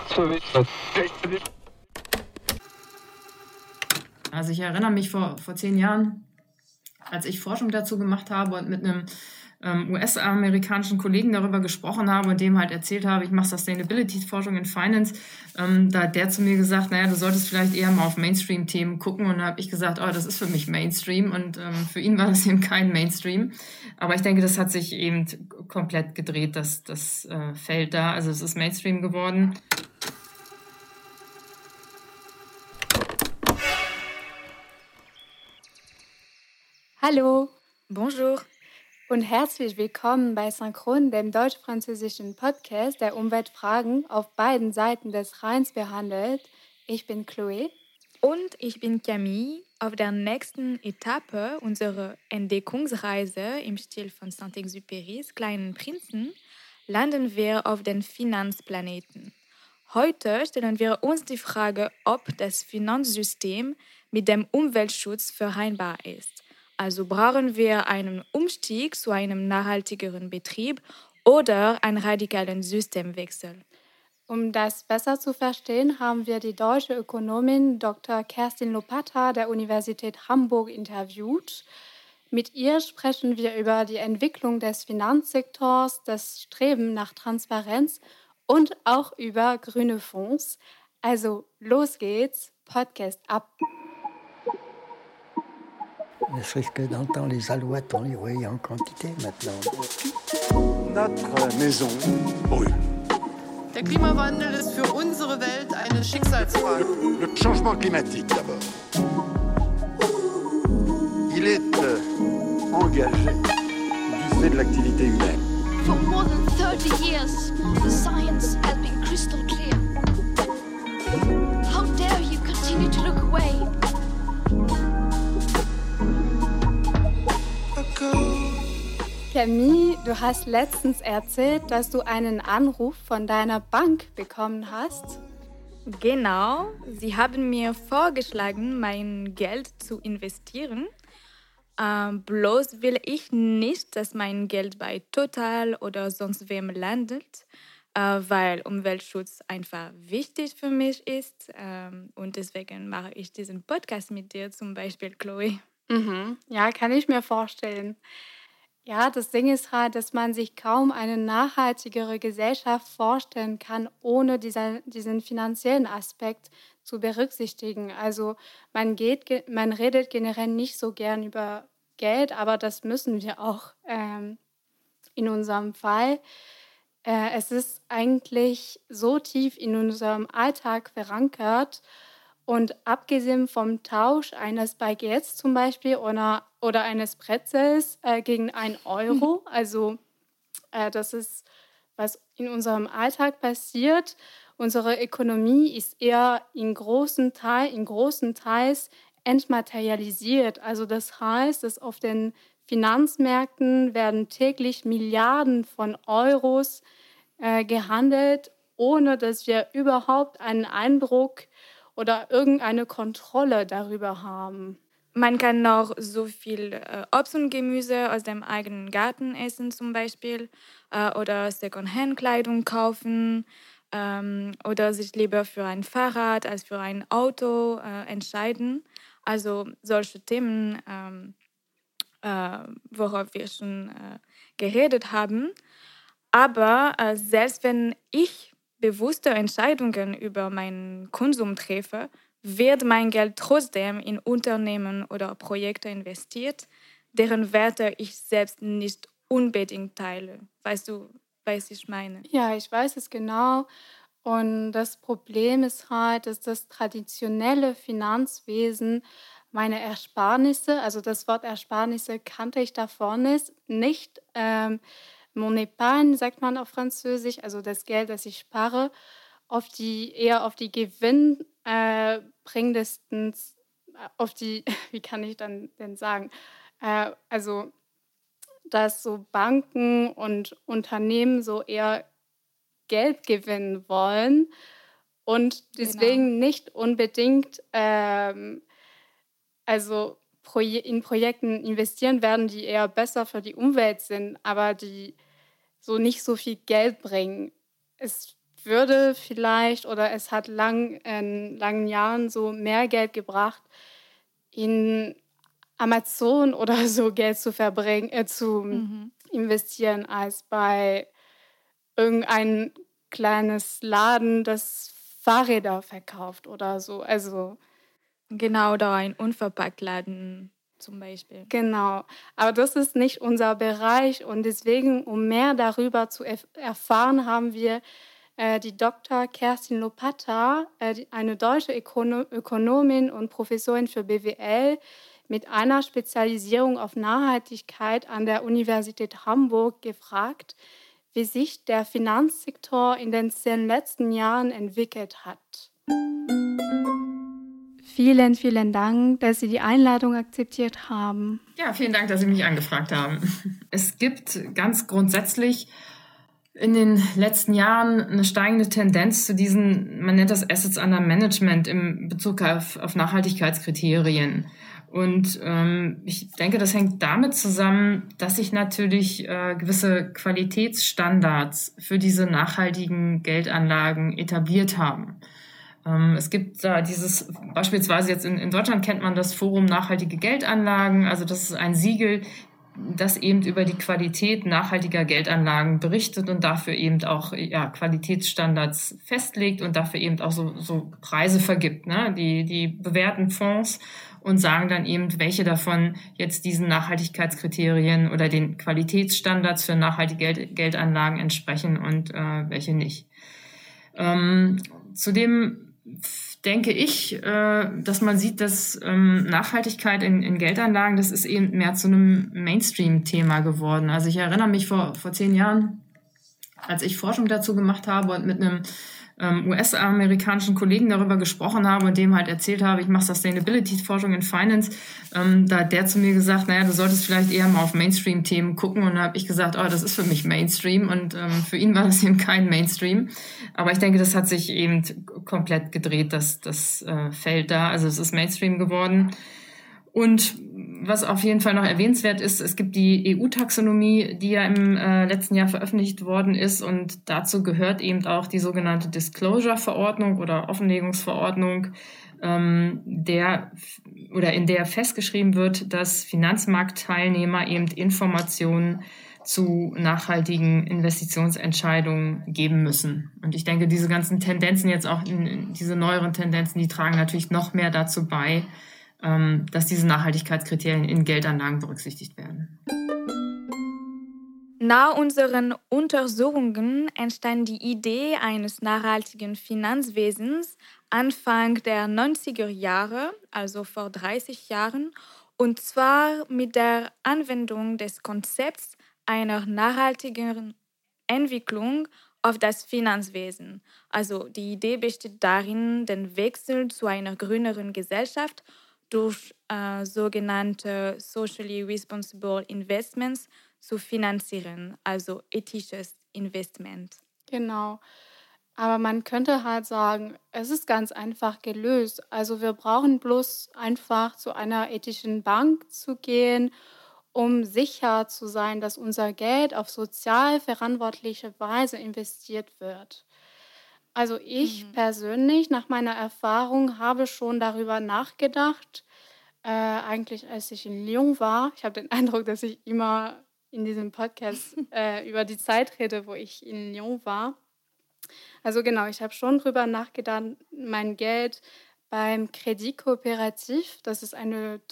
Also ich erinnere mich vor 10 Jahren, als ich Forschung dazu gemacht habe und mit einem US-amerikanischen Kollegen darüber gesprochen habe und dem halt erzählt habe, ich mache Sustainability-Forschung in Finance, da hat der zu mir gesagt, naja, du solltest vielleicht eher mal auf Mainstream-Themen gucken. Und da habe ich gesagt, oh, das ist für mich Mainstream. Und für ihn war das eben kein Mainstream. Aber ich denke, das hat sich eben komplett gedreht, das Feld da. Also es ist Mainstream geworden. Hallo. Bonjour. Und herzlich willkommen bei Synchron, dem deutsch-französischen Podcast, der Umweltfragen auf beiden Seiten des Rheins behandelt. Ich bin Chloé. Und ich bin Camille. Auf der nächsten Etappe unserer Entdeckungsreise im Stil von Saint-Exupérys Kleinen Prinzen landen wir auf den Finanzplaneten. Heute stellen wir uns die Frage, ob das Finanzsystem mit dem Umweltschutz vereinbar ist. Also brauchen wir einen Umstieg zu einem nachhaltigeren Betrieb oder einen radikalen Systemwechsel. Um das besser zu verstehen, haben wir die deutsche Ökonomin Dr. Kerstin Lopata der Universität Hamburg interviewt. Mit ihr sprechen wir über die Entwicklung des Finanzsektors, das Streben nach Transparenz und auch über grüne Fonds. Also los geht's, Podcast ab. Ne serait-ce que dans le temps, les alouettes, on les voyait en quantité maintenant. Notre maison brûle. Der Klimawandel ist für unsere Welt eine Schicksalsfrage. Le changement climatique d'abord. Il est engagé du fait de l'activité humaine. For more than 30 years, the science has been crystal clear. How dare you continue to look away? Camille, du hast letztens erzählt, dass du einen Anruf von deiner Bank bekommen hast. Genau, sie haben mir vorgeschlagen, mein Geld zu investieren. Bloß will ich nicht, dass mein Geld bei Total oder sonst wem landet, weil Umweltschutz einfach wichtig für mich ist. Und deswegen mache ich diesen Podcast mit dir zum Beispiel, Chloe. Ja, kann ich mir vorstellen. Ja, das Ding ist halt, dass man sich kaum eine nachhaltigere Gesellschaft vorstellen kann, ohne diesen finanziellen Aspekt zu berücksichtigen. Also man redet generell nicht so gern über Geld, aber das müssen wir auch in unserem Fall. Es ist eigentlich so tief in unserem Alltag verankert. Und abgesehen vom Tausch eines Baguettes zum Beispiel oder eines Pretzels gegen 1 Euro, also das ist, was in unserem Alltag passiert. Unsere Ökonomie ist eher in großen Teils entmaterialisiert. Also das heißt, dass auf den Finanzmärkten werden täglich Milliarden von Euros gehandelt, ohne dass wir überhaupt einen Eindruck oder irgendeine Kontrolle darüber haben. Man kann noch so viel Obst und Gemüse aus dem eigenen Garten essen zum Beispiel oder Secondhand-Kleidung kaufen oder sich lieber für ein Fahrrad als für ein Auto entscheiden. Also solche Themen, worauf wir schon geredet haben. Aber selbst wenn ich bewusste Entscheidungen über meinen Konsum treffe, wird mein Geld trotzdem in Unternehmen oder Projekte investiert, deren Werte ich selbst nicht unbedingt teile. Weißt du, was ich meine? Ja, ich weiß es genau. Und das Problem ist halt, dass das traditionelle Finanzwesen meine Ersparnisse, also das Wort Ersparnisse kannte ich davor nicht, mon épargne, sagt man auf Französisch, also das Geld, das ich spare, eher auf die gewinnbringendsten, auf die, wie kann ich dann denn sagen, also dass so Banken und Unternehmen so eher Geld gewinnen wollen und deswegen nicht unbedingt in Projekten investieren werden, die eher besser für die Umwelt sind, aber die so nicht so viel Geld bringen. Es würde vielleicht oder es hat in langen Jahren so mehr Geld gebracht, in Amazon oder so Geld zu investieren, als bei irgendein kleines Laden, das Fahrräder verkauft oder so. Also Genau, da ein Unverpacktladen zum Beispiel. genau. Aber das ist nicht unser Bereich und deswegen, um mehr darüber zu erfahren, haben wir die Dr. Kerstin Lopata, eine deutsche Ökonomin und Professorin für BWL mit einer Spezialisierung auf Nachhaltigkeit an der Universität Hamburg, gefragt, wie sich der Finanzsektor in den 10 letzten Jahren entwickelt hat. Vielen, vielen Dank, dass Sie die Einladung akzeptiert haben. Ja, vielen Dank, dass Sie mich angefragt haben. Es gibt ganz grundsätzlich in den letzten Jahren eine steigende Tendenz zu diesen, man nennt das Assets Under Management in Bezug auf Nachhaltigkeitskriterien. Und ich denke, das hängt damit zusammen, dass sich natürlich gewisse Qualitätsstandards für diese nachhaltigen Geldanlagen etabliert haben. Es gibt da beispielsweise jetzt in Deutschland kennt man das Forum Nachhaltige Geldanlagen, also das ist ein Siegel, das eben über die Qualität nachhaltiger Geldanlagen berichtet und dafür eben auch Qualitätsstandards festlegt und dafür eben auch so Preise vergibt, ne? Die bewerten Fonds und sagen dann eben, welche davon jetzt diesen Nachhaltigkeitskriterien oder den Qualitätsstandards für nachhaltige Geldanlagen entsprechen und welche nicht. Zudem denke ich, dass man sieht, dass Nachhaltigkeit in Geldanlagen, das ist eben mehr zu einem Mainstream-Thema geworden. Also ich erinnere mich vor 10 Jahren, als ich Forschung dazu gemacht habe und mit einem US-amerikanischen Kollegen darüber gesprochen habe und dem halt erzählt habe, ich mache Sustainability-Forschung in Finance, da hat der zu mir gesagt, naja, du solltest vielleicht eher mal auf Mainstream-Themen gucken. Und da habe ich gesagt, oh, das ist für mich Mainstream. Und für ihn war das eben kein Mainstream. Aber ich denke, das hat sich eben komplett gedreht, das Feld da. Also es ist Mainstream geworden. Und was auf jeden Fall noch erwähnenswert ist, es gibt die EU-Taxonomie, die ja im letzten Jahr veröffentlicht worden ist. Und dazu gehört eben auch die sogenannte Disclosure-Verordnung oder Offenlegungsverordnung, in der festgeschrieben wird, dass Finanzmarktteilnehmer eben Informationen zu nachhaltigen Investitionsentscheidungen geben müssen. Und ich denke, diese ganzen Tendenzen jetzt auch, diese neueren Tendenzen, die tragen natürlich noch mehr dazu bei, dass diese Nachhaltigkeitskriterien in Geldanlagen berücksichtigt werden. Nach unseren Untersuchungen entstand die Idee eines nachhaltigen Finanzwesens Anfang der 90er Jahre, also vor 30 Jahren, und zwar mit der Anwendung des Konzepts einer nachhaltigen Entwicklung auf das Finanzwesen. Also die Idee besteht darin, den Wechsel zu einer grüneren Gesellschaft durch sogenannte Socially Responsible Investments zu finanzieren, also ethisches Investment. Genau. Aber man könnte halt sagen, es ist ganz einfach gelöst. Also wir brauchen bloß einfach zu einer ethischen Bank zu gehen, um sicher zu sein, dass unser Geld auf sozial verantwortliche Weise investiert wird. Also ich persönlich, nach meiner Erfahrung, habe schon darüber nachgedacht, eigentlich als ich in Lyon war. Ich habe den Eindruck, dass ich immer in diesem Podcast über die Zeit rede, wo ich in Lyon war. Also genau, ich habe schon darüber nachgedacht, mein Geld beim Crédit Coopératif, das ist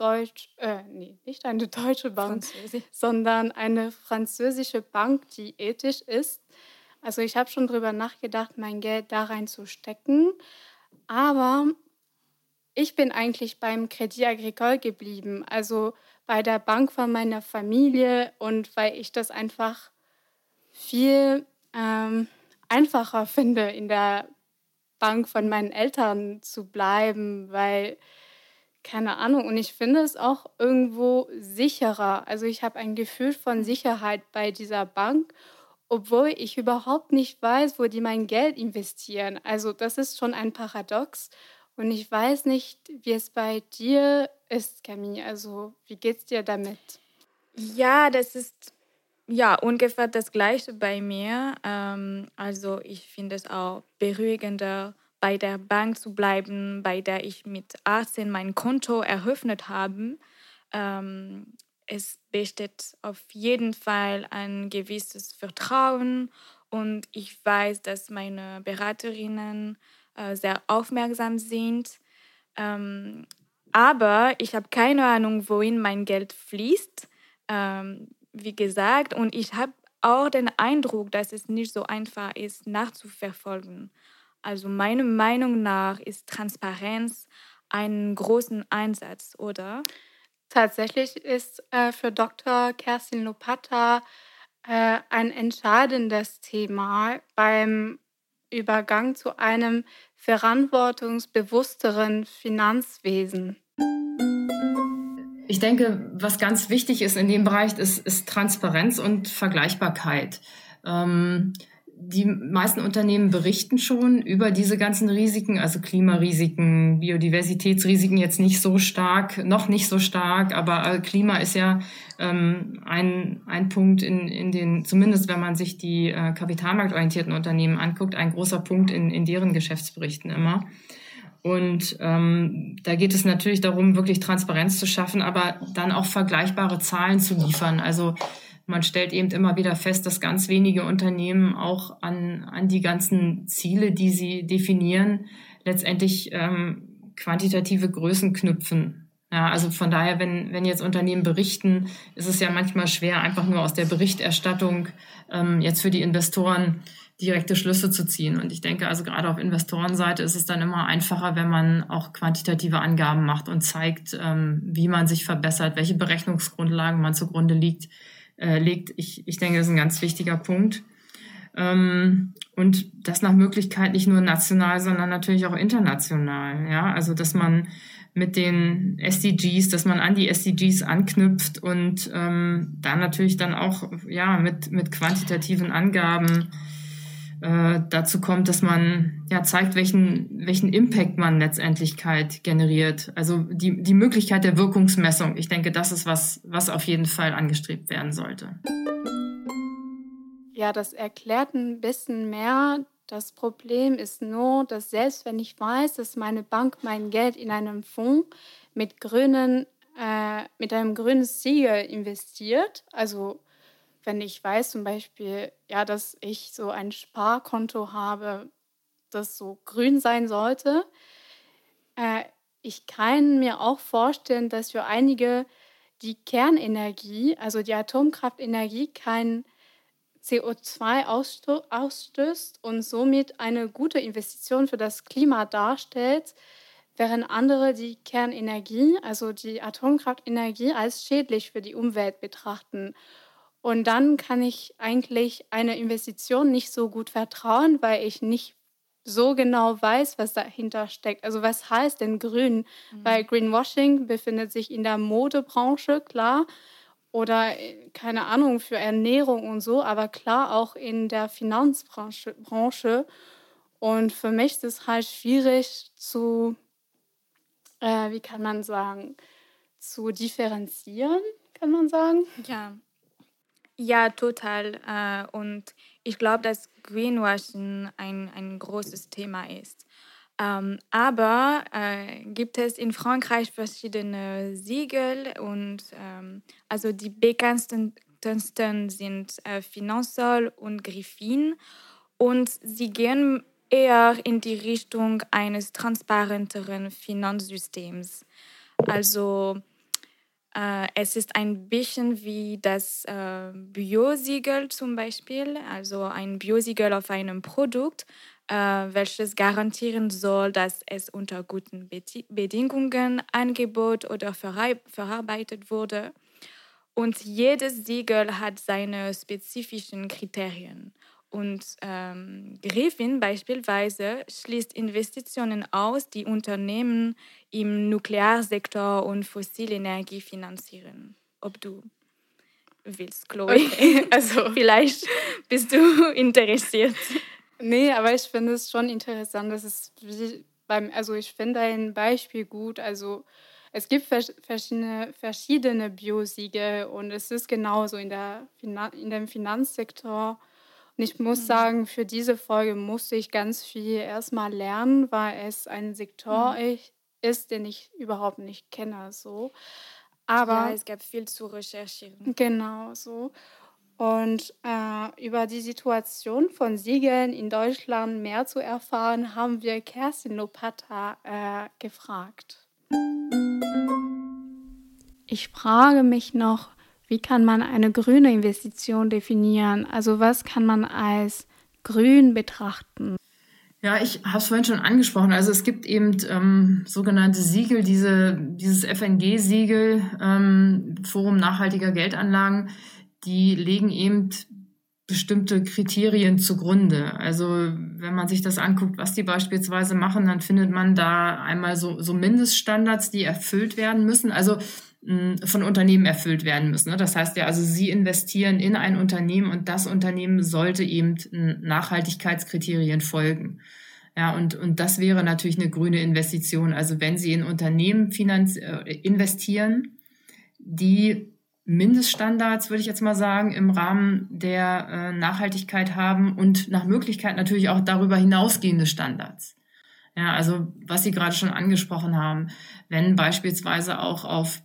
nicht eine deutsche Bank, sondern eine französische Bank, die ethisch ist. Also ich habe schon darüber nachgedacht, mein Geld da reinzustecken, aber ich bin eigentlich beim Crédit Agricole geblieben, also bei der Bank von meiner Familie, und weil ich das einfach viel einfacher finde, in der Bank von meinen Eltern zu bleiben, weil, keine Ahnung, und ich finde es auch irgendwo sicherer. Also ich habe ein Gefühl von Sicherheit bei dieser Bank, obwohl ich überhaupt nicht weiß, wo die mein Geld investieren. Also das ist schon ein Paradox. Und ich weiß nicht, wie es bei dir ist, Camille. Also wie geht's dir damit? Ja, das ist Ja, ungefähr das Gleiche bei mir. Also ich finde es auch beruhigender, bei der Bank zu bleiben, bei der ich mit 18 mein Konto eröffnet habe. Es besteht auf jeden Fall ein gewisses Vertrauen und ich weiß, dass meine Beraterinnen sehr aufmerksam sind. Ähm, aber ich habe keine Ahnung, wohin mein Geld fließt. Wie gesagt, und ich habe auch den Eindruck, dass es nicht so einfach ist, nachzuverfolgen. Also meiner Meinung nach ist Transparenz einen großen Einsatz, oder? Tatsächlich ist für Dr. Kerstin Lopata ein entscheidendes Thema beim Übergang zu einem verantwortungsbewussteren Finanzwesen. Ich denke, was ganz wichtig ist in dem Bereich, ist Transparenz und Vergleichbarkeit. Die meisten Unternehmen berichten schon über diese ganzen Risiken, also Klimarisiken, Biodiversitätsrisiken jetzt nicht so stark, noch nicht so stark, aber Klima ist ja ein Punkt in den, zumindest wenn man sich die kapitalmarktorientierten Unternehmen anguckt, ein großer Punkt in deren Geschäftsberichten immer. Und da geht es natürlich darum, wirklich Transparenz zu schaffen, aber dann auch vergleichbare Zahlen zu liefern. Also man stellt eben immer wieder fest, dass ganz wenige Unternehmen auch an die ganzen Ziele, die sie definieren, letztendlich quantitative Größen knüpfen. Ja, also von daher, wenn jetzt Unternehmen berichten, ist es ja manchmal schwer, einfach nur aus der Berichterstattung jetzt für die Investoren direkte Schlüsse zu ziehen. Und ich denke, also gerade auf Investorenseite ist es dann immer einfacher, wenn man auch quantitative Angaben macht und zeigt, wie man sich verbessert, welche Berechnungsgrundlagen man zugrunde legt. Ich denke, das ist ein ganz wichtiger Punkt. Und das nach Möglichkeit nicht nur national, sondern natürlich auch international. Ja, also dass man mit den SDGs, dass man an die SDGs anknüpft und dann natürlich dann auch mit quantitativen Angaben dazu kommt, dass man zeigt, welchen Impact man letztendlich generiert. Also die Möglichkeit der Wirkungsmessung. Ich denke, das ist was auf jeden Fall angestrebt werden sollte. Ja, das erklärt ein bisschen mehr. Das Problem ist nur, dass selbst wenn ich weiß, dass meine Bank mein Geld in einem Fonds mit einem grünen Siegel investiert, also wenn ich weiß zum Beispiel, dass ich so ein Sparkonto habe, das so grün sein sollte, ich kann mir auch vorstellen, dass für einige die Kernenergie, also die Atomkraftenergie, kein CO2 ausstößt und somit eine gute Investition für das Klima darstellt, während andere die Kernenergie, also die Atomkraftenergie, als schädlich für die Umwelt betrachten. Und dann kann ich eigentlich einer Investition nicht so gut vertrauen, weil ich nicht so genau weiß, was dahinter steckt. Also was heißt denn grün? Weil Greenwashing befindet sich in der Modebranche, klar, oder keine Ahnung, für Ernährung und so, aber klar auch in der Finanzbranche. Und für mich ist es halt schwierig zu, wie kann man sagen, zu differenzieren, kann man sagen. Ja, total. Und ich glaube, dass Greenwashing ein großes Thema ist. Aber gibt es in Frankreich verschiedene Siegel und also die bekanntesten sind Finansol und Griffin und sie gehen eher in die Richtung eines transparenteren Finanzsystems. Also es ist ein bisschen wie das Biosiegel zum Beispiel, also ein Biosiegel auf einem Produkt, welches garantieren soll, dass es unter guten Bedingungen angeboten oder verarbeitet wurde. Und jedes Siegel hat seine spezifischen Kriterien. Und Griffin beispielsweise schließt Investitionen aus, die Unternehmen im Nuklearsektor und Fossilenergie finanzieren. Ob du willst, Chloe. Okay, also Vielleicht bist du interessiert. Nee, aber ich finde es schon interessant, dass ich finde ein Beispiel gut. Also es gibt verschiedene Biosiegel und es ist genauso in dem Finanzsektor. Und ich muss sagen, für diese Folge musste ich ganz viel erstmal lernen, weil es ein Sektor ist, den ich überhaupt nicht kenne. So. Aber Ja, es gab viel zu recherchieren. genau so. Und über die Situation von Siegeln in Deutschland mehr zu erfahren, haben wir Kerstin Lopata gefragt. Ich frage mich noch, wie kann man eine grüne Investition definieren? Also was kann man als grün betrachten? Ja, ich habe es vorhin schon angesprochen. Also es gibt eben sogenannte Siegel, dieses FNG-Siegel, Forum nachhaltiger Geldanlagen, die legen eben bestimmte Kriterien zugrunde. Also wenn man sich das anguckt, was die beispielsweise machen, dann findet man da einmal so Mindeststandards, die erfüllt werden müssen, also von Unternehmen erfüllt werden müssen. Das heißt ja, also sie investieren in ein Unternehmen und das Unternehmen sollte eben Nachhaltigkeitskriterien folgen. Ja, und das wäre natürlich eine grüne Investition. Also wenn Sie in Unternehmen investieren, die Mindeststandards, würde ich jetzt mal sagen, im Rahmen der Nachhaltigkeit haben und nach Möglichkeit natürlich auch darüber hinausgehende Standards. Ja, also was Sie gerade schon angesprochen haben, wenn beispielsweise auch auf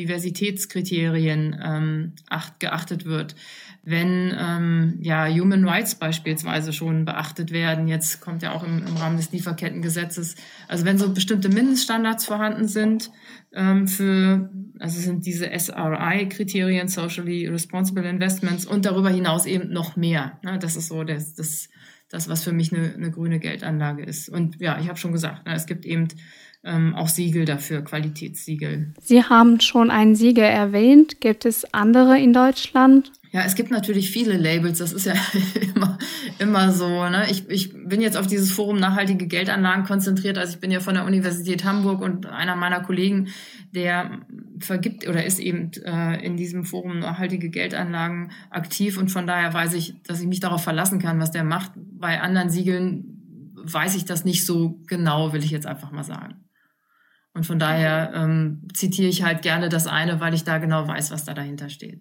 Biodiversitätskriterien geachtet wird, wenn Human Rights beispielsweise schon beachtet werden, jetzt kommt ja auch im Rahmen des Lieferkettengesetzes, also wenn so bestimmte Mindeststandards vorhanden sind also sind diese SRI-Kriterien, Socially Responsible Investments und darüber hinaus eben noch mehr. Ne? Das ist so das, was für mich eine grüne Geldanlage ist. Und ja, ich habe schon gesagt, es gibt eben auch Siegel dafür, Qualitätssiegel. Sie haben schon ein Siegel erwähnt. Gibt es andere in Deutschland? Ja, es gibt natürlich viele Labels, das ist ja immer so. Ne? Ich bin jetzt auf dieses Forum nachhaltige Geldanlagen konzentriert, also ich bin ja von der Universität Hamburg und einer meiner Kollegen, der vergibt oder ist eben in diesem Forum nachhaltige Geldanlagen aktiv und von daher weiß ich, dass ich mich darauf verlassen kann, was der macht. Bei anderen Siegeln weiß ich das nicht so genau, will ich jetzt einfach mal sagen. Und von daher zitiere ich halt gerne das eine, weil ich da genau weiß, was da dahinter steht.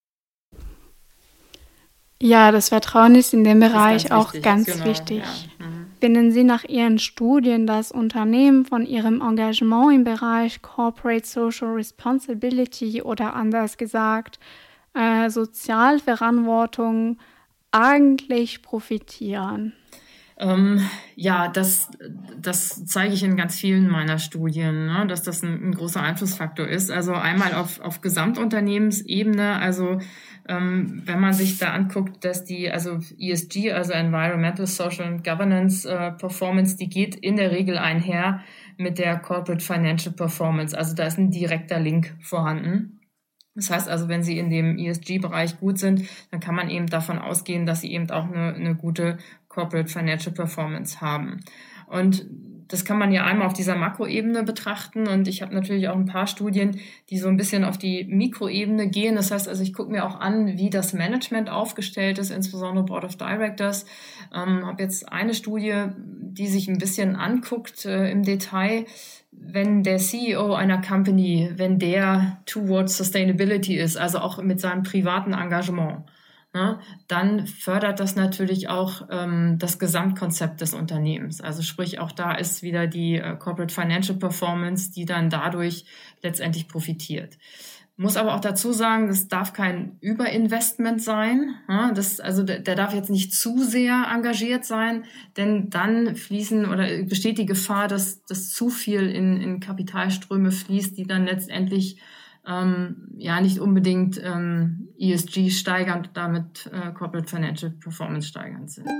Ja, das Vertrauen ist in dem Bereich auch ganz wichtig. Ja. Finden Sie nach Ihren Studien, dass Unternehmen von ihrem Engagement im Bereich Corporate Social Responsibility oder anders gesagt Sozialverantwortung eigentlich profitieren? Ja, das zeige ich in ganz vielen meiner Studien, ne, dass das ein großer Einflussfaktor ist. Also einmal auf Gesamtunternehmensebene, also wenn man sich da anguckt, dass also ESG, also Environmental, Social and Governance Performance, die geht in der Regel einher mit der Corporate Financial Performance. Also da ist ein direkter Link vorhanden. Das heißt also, wenn Sie in dem ESG-Bereich gut sind, dann kann man eben davon ausgehen, dass Sie eben auch eine gute Corporate Financial Performance haben. Und das kann man ja einmal auf dieser Makroebene betrachten und ich habe natürlich auch ein paar Studien, die so ein bisschen auf die Mikroebene gehen. Das heißt also, ich gucke mir auch an, wie das Management aufgestellt ist, insbesondere Board of Directors. Habe jetzt eine Studie, die sich ein bisschen anguckt im Detail, wenn der CEO einer Company, wenn der towards Sustainability ist, also auch mit seinem privaten Engagement, ne, dann fördert das natürlich auch das Gesamtkonzept des Unternehmens. Also sprich, auch da ist wieder die Corporate Financial Performance, die dann dadurch letztendlich profitiert. Muss aber auch dazu sagen, das darf kein Überinvestment sein. Ja, der darf jetzt nicht zu sehr engagiert sein, denn dann besteht die Gefahr, dass zu viel in Kapitalströme fließt, die dann letztendlich nicht unbedingt ESG steigernd und damit Corporate Financial Performance steigernd sind.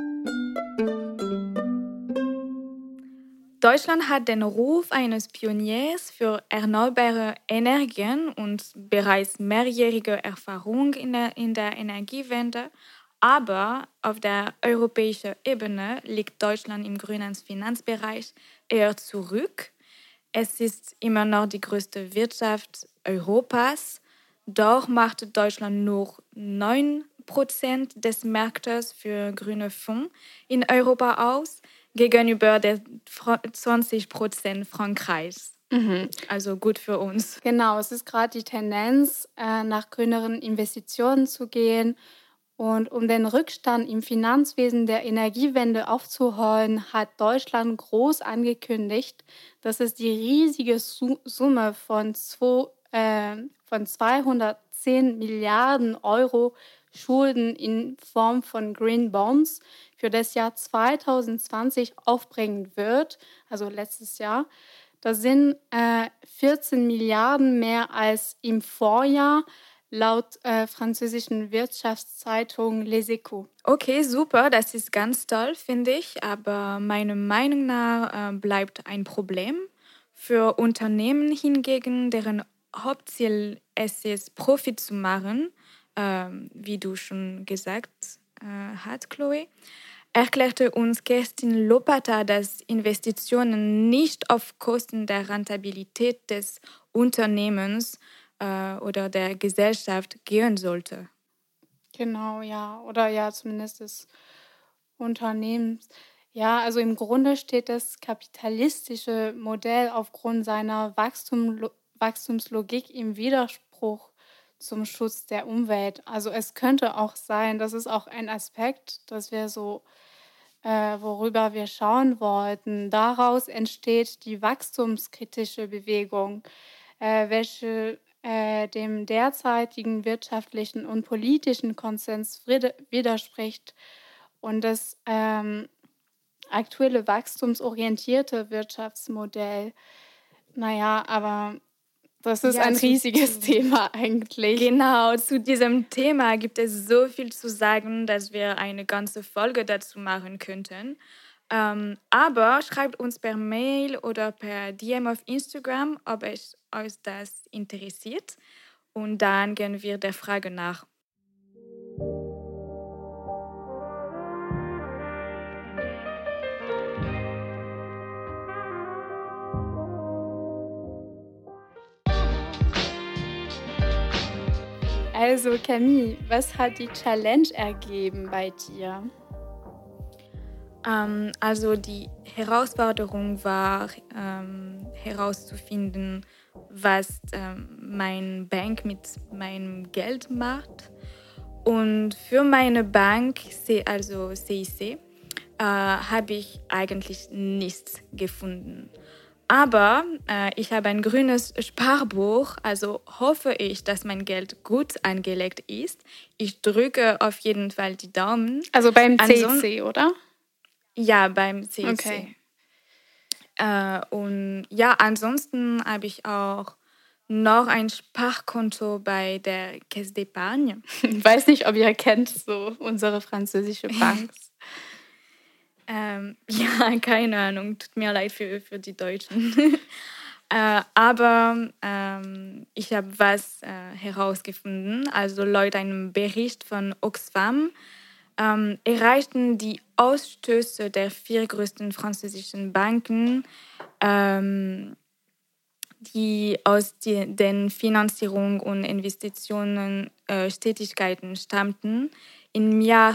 Deutschland hat den Ruf eines Pioniers für erneuerbare Energien und bereits mehrjährige Erfahrung in der Energiewende. Aber auf der europäischen Ebene liegt Deutschland im grünen Finanzbereich eher zurück. Es ist immer noch die größte Wirtschaft Europas. Doch macht Deutschland nur 9% des Marktes für grüne Fonds in Europa aus, gegenüber der 20% Frankreichs. Also gut für uns. Genau, es ist gerade die Tendenz, nach grüneren Investitionen zu gehen. Und um den Rückstand im Finanzwesen der Energiewende aufzuholen, hat Deutschland groß angekündigt, dass es die riesige Summe von 210 Milliarden Euro Schulden in Form von Green Bonds für das Jahr 2020 aufbringen wird, also letztes Jahr. Das sind 14 Milliarden mehr als im Vorjahr, laut französischen Wirtschaftszeitung Les Echos. Okay, super, das ist ganz toll, finde ich. Aber meiner Meinung nach bleibt ein Problem. Für Unternehmen hingegen, deren Hauptziel es ist, Profit zu machen, wie du schon gesagt hast, Chloe, erklärte uns Kerstin Lopata, dass Investitionen nicht auf Kosten der Rentabilität des Unternehmens oder der Gesellschaft gehen sollte. Genau, ja. Oder ja, zumindest des Unternehmens. Ja, also im Grunde steht das kapitalistische Modell aufgrund seiner Wachstumslogik im Widerspruch zum Schutz der Umwelt. Also es könnte auch sein, das ist auch ein Aspekt, dass wir so, worüber wir schauen wollten. Daraus entsteht die wachstumskritische Bewegung, welche dem derzeitigen wirtschaftlichen und politischen Konsens widerspricht. Und das aktuelle wachstumsorientierte Wirtschaftsmodell, naja, aber das ist ein riesiges Thema eigentlich. Genau, zu diesem Thema gibt es so viel zu sagen, dass wir eine ganze Folge dazu machen könnten. Aber schreibt uns per Mail oder per DM auf Instagram, ob euch das interessiert. Und dann gehen wir der Frage nach. Also Camille, was hat die Challenge ergeben bei dir? Also die Herausforderung war herauszufinden, was meine Bank mit meinem Geld macht. Und für meine Bank, also CIC, habe ich eigentlich nichts gefunden. Aber ich habe ein grünes Sparbuch, also hoffe ich, dass mein Geld gut angelegt ist. Ich drücke auf jeden Fall die Daumen. Also beim CIC, oder? Ja, beim CIC. Okay. Und ja, ansonsten habe ich auch noch ein Sparkonto bei der Caisse d'Épargne. Ich weiß nicht, ob ihr kennt so unsere französische Bank. Ja, keine Ahnung, tut mir leid für die Deutschen. Aber ich habe was herausgefunden. Also laut einem Bericht von Oxfam erreichten die Ausstöße der 4 größten französischen Banken, die aus den Finanzierung und Investitionen Tätigkeiten stammten, im Jahr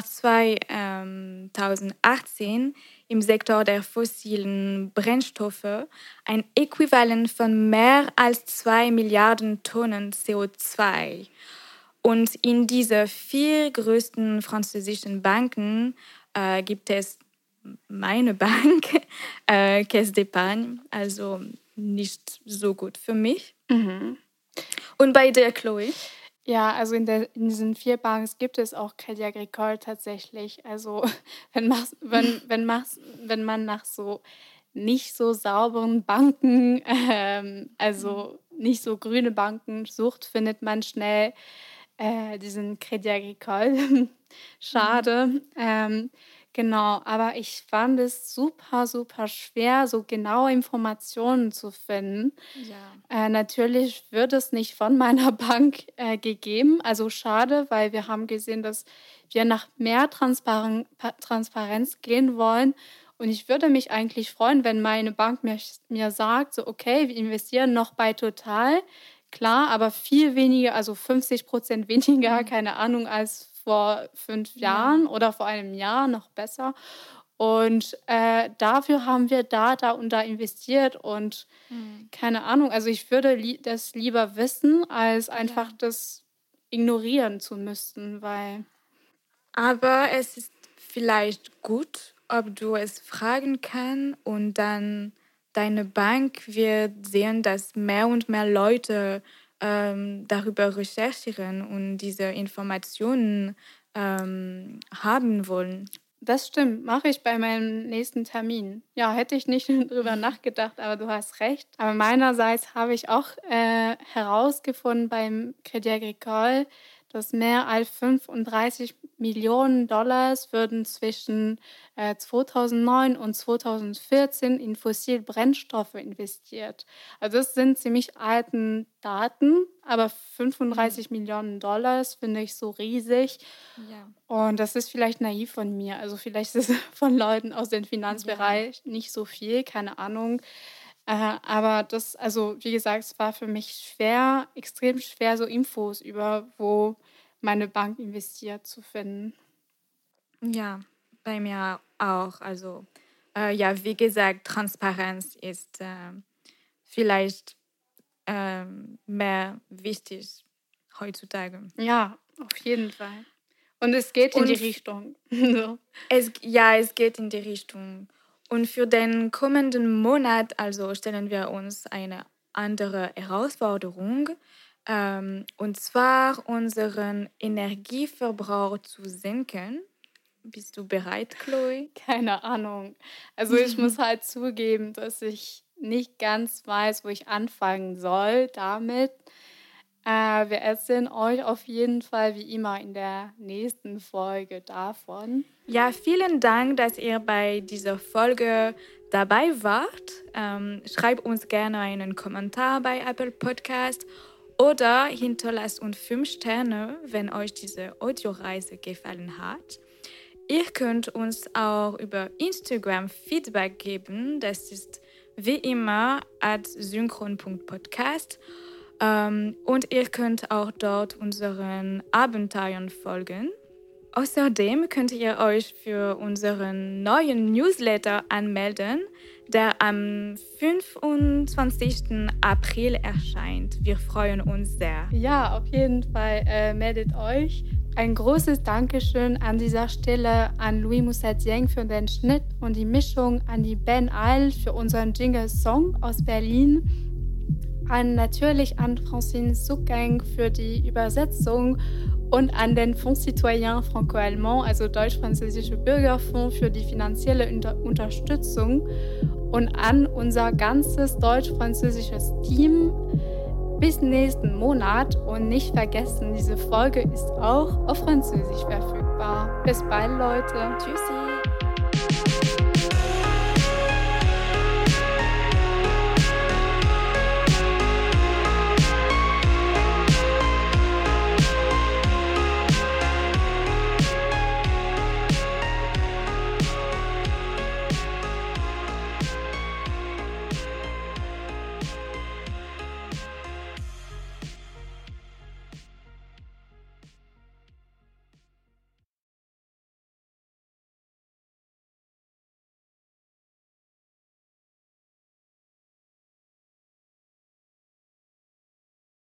2018 im Sektor der fossilen Brennstoffe ein Äquivalent von mehr als 2 Milliarden Tonnen CO2. Und in diese 4 größten französischen Banken gibt es meine Bank, Caisse d'Épargne, also nicht so gut für mich. Mhm. Und bei dir, Chloe? Ja, also in diesen 4 Banken gibt es auch Crédit Agricole tatsächlich. Also wenn man nach so nicht so sauberen Banken, also nicht so grüne Banken sucht, findet man schnell diesen Crédit Agricole. Schade. Genau, aber ich fand es super, super schwer, so genaue Informationen zu finden. Ja. Natürlich wird es nicht von meiner Bank gegeben. Also schade, weil wir haben gesehen, dass wir nach mehr Transparenz gehen wollen. Und ich würde mich eigentlich freuen, wenn meine Bank mir sagt, so okay, wir investieren noch bei Total. Klar, aber viel weniger, also 50% weniger, keine Ahnung, als vor 5 Jahren oder vor einem Jahr, noch besser. Und dafür haben wir da und da investiert und keine Ahnung, also ich würde das lieber wissen, als einfach das ignorieren zu müssen, weil... Aber es ist vielleicht gut, ob du es fragen kannst und dann deine Bank wird sehen, dass mehr und mehr Leute darüber recherchieren und diese Informationen haben wollen. Das stimmt, mache ich bei meinem nächsten Termin. Ja, hätte ich nicht drüber nachgedacht, aber du hast recht. Aber meinerseits habe ich auch herausgefunden beim Crédit Agricole, dass mehr als 35 Millionen Dollars würden zwischen 2009 und 2014 in fossile Brennstoffe investiert. Also das sind ziemlich alten Daten, aber 35 Millionen Dollars finde ich so riesig. Ja. Und das ist vielleicht naiv von mir. Also vielleicht ist es von Leuten aus dem Finanzbereich nicht so viel, keine Ahnung. Aber das, also wie gesagt, es war für mich schwer, extrem schwer, so Infos über, wo meine Bank investiert, zu finden. Ja, bei mir auch. Also ja, wie gesagt, Transparenz ist vielleicht mehr wichtig heutzutage. Ja, auf jeden Fall. Und es geht in die Richtung. So. Es geht in die Richtung. Und für den kommenden Monat also stellen wir uns eine andere Herausforderung, und zwar unseren Energieverbrauch zu senken. Bist du bereit, Chloe? Keine Ahnung. Also ich muss halt zugeben, dass ich nicht ganz weiß, wo ich anfangen soll damit. Wir erzählen euch auf jeden Fall wie immer in der nächsten Folge davon. Ja, vielen Dank, dass ihr bei dieser Folge dabei wart. Schreibt uns gerne einen Kommentar bei Apple Podcast oder hinterlasst uns 5 Sterne, wenn euch diese Audioreise gefallen hat. Ihr könnt uns auch über Instagram Feedback geben. Das ist wie immer @synchron.podcast. Und ihr könnt auch dort unseren Abenteuern folgen. Außerdem könnt ihr euch für unseren neuen Newsletter anmelden, der am 25. April erscheint. Wir freuen uns sehr. Ja, auf jeden Fall meldet euch. Ein großes Dankeschön an dieser Stelle an Louis Moussadieng für den Schnitt und die Mischung, an die Ben Eil für unseren Jingle-Song aus Berlin, natürlich an Francine Zuckeng für die Übersetzung und an den Fonds Citoyen Franco-Allemand, also Deutsch-Französische Bürgerfonds, für die finanzielle Unterstützung und an unser ganzes deutsch-französisches Team. Bis nächsten Monat und nicht vergessen, diese Folge ist auch auf Französisch verfügbar. Bis bald, Leute. Tschüssi.